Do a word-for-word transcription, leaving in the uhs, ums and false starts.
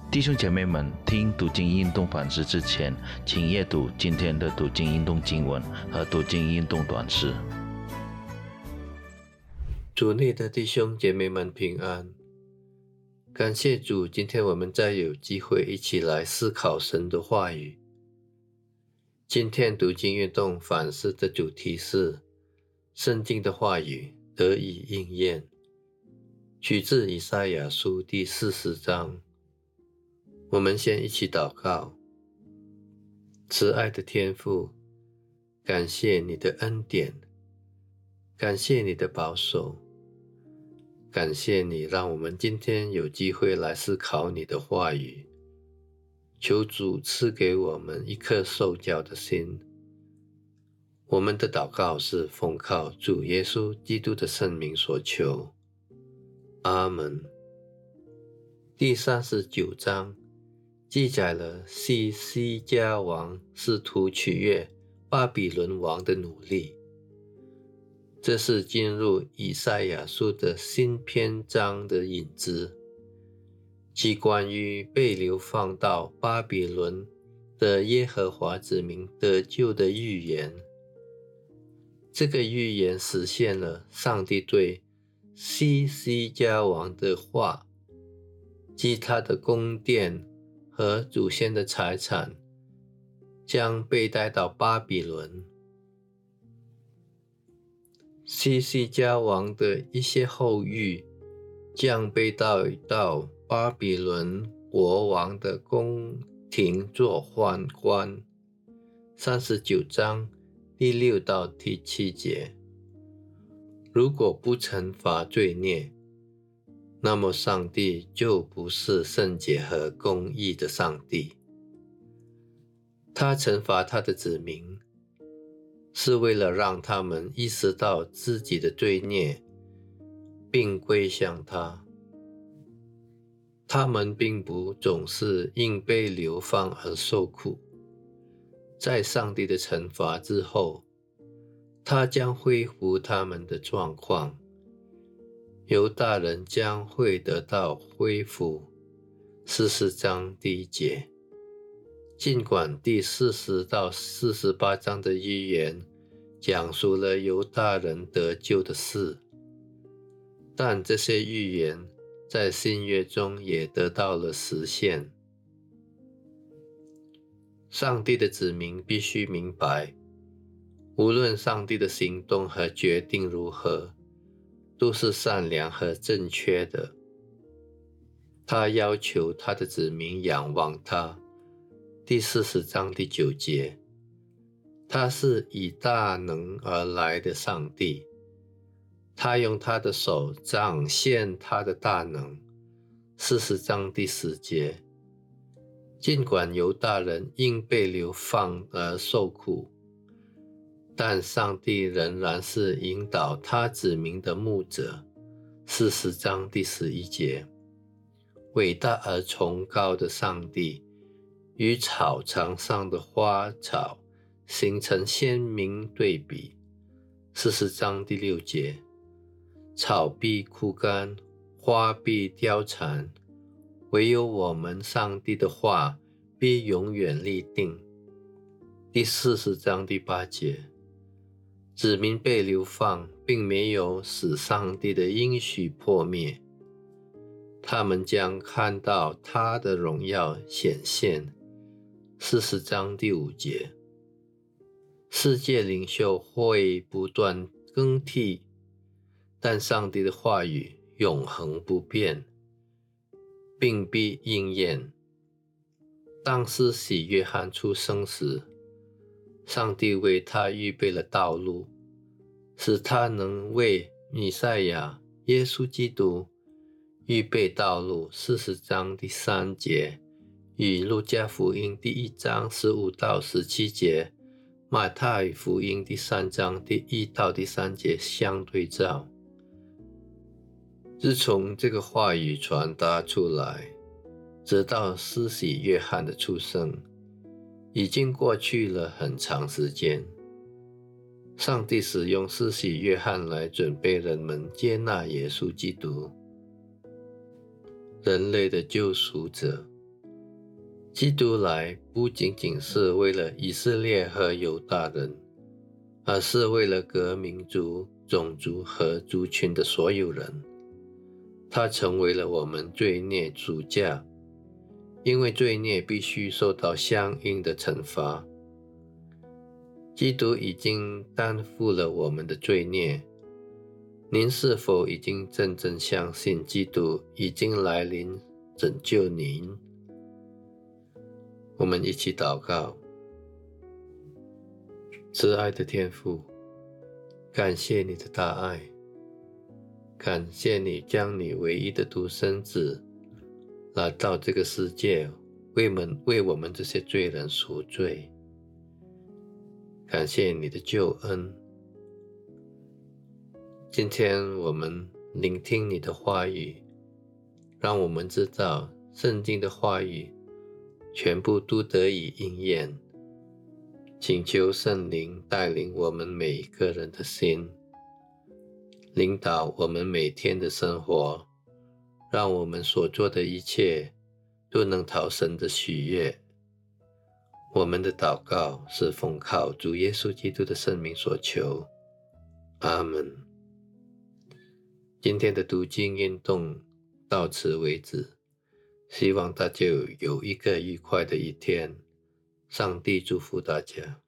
弟兄姐妹们，听读经运动反思之前，请阅读今天的读经运动经文和读经运动短诗。 主内的弟兄姐妹们平安，感谢主，今天我们再有机会一起来思考神的话语。今天读经运动反思的主题是圣经的话语得以应验，取自以赛亚书第四十章。我们先一起祷告。慈爱的天父，感谢你的恩典，感谢你的保守，感谢你让我们今天有机会来思考你的话语。求主赐给我们一颗受教的心。我们的祷告是奉靠主耶稣基督的圣名所求。阿们。第三十九章记载了西西家王试图取悦巴比伦王的努力。这是进入以赛亚书的新篇章的引子，即关于被流放到巴比伦的耶和华子民得救的预言。这个预言实现了上帝对西西家王的话，即他的宫殿和祖先的财产将被带到巴比伦。西西家王的一些后裔将被带到巴比伦国王的宫廷做宦官。三十九章第六到第七节。如果不惩罚罪孽，那么上帝就不是圣洁和公义的上帝。他惩罚他的子民，是为了让他们意识到自己的罪孽，并归向他。他们并不总是因被流放而受苦。在上帝的惩罚之后，他将恢复他们的状况。犹大人将会得到恢复。四十章第一节。尽管第四十到四十八章的预言讲述了犹大人得救的事，但这些预言在新约中也得到了实现。上帝的子民必须明白，无论上帝的行动和决定如何，都是善良和正确的。他要求他的子民仰望他。第四十章第九节。他是以大能而来的上帝，他用他的手展现他的大能。四十章第十节。尽管犹大人因被流放而受苦，但上帝仍然是引导他子民的牧者。四十章第十一节。伟大而崇高的上帝与草场上的花草形成鲜明对比。四十章第六节。草必枯干，花必凋残，唯有我们上帝的话必永远立定。第四十章第八节。子民被流放，并没有使上帝的应许破灭，他们将看到他的荣耀显现。四十章第五节。世界领袖会不断更替，但上帝的话语永恒不变，并必应验。当施洗约翰出生时，上帝为他预备了道路，使他能为弥赛亚耶稣基督预备道路。四十章第三节与路加福音第一章十五到十七节、马太福音第三章第一到第三节相对照。自从这个话语传达出来，直到施洗约翰的出生，已经过去了很长时间。上帝使用施洗约翰来准备人们接纳耶稣基督，人类的救赎者。 基督来不仅仅是为了以色列和犹大人，而是为了各民族、种族和族群的所有人。他成为了我们罪孽主价，因为罪孽必须受到相应的惩罚。基督已经担负了我们的罪孽。您是否已经真正相信基督已经来临拯救您？我们一起祷告。慈爱的天父，感谢你的大爱，感谢你将你唯一的独生子来到这个世界，为我们为我们这些罪人赎罪。感谢你的救恩。今天我们聆听你的话语，让我们知道圣经的话语全部都得以应验。请求圣灵带领我们每一个人的心，领导我们每天的生活，让我们所做的一切都能讨神的喜悦。我们的祷告是奉靠主耶稣基督的圣名所求，阿们。今天的读经运动到此为止，希望大家有一个愉快的一天。上帝祝福大家。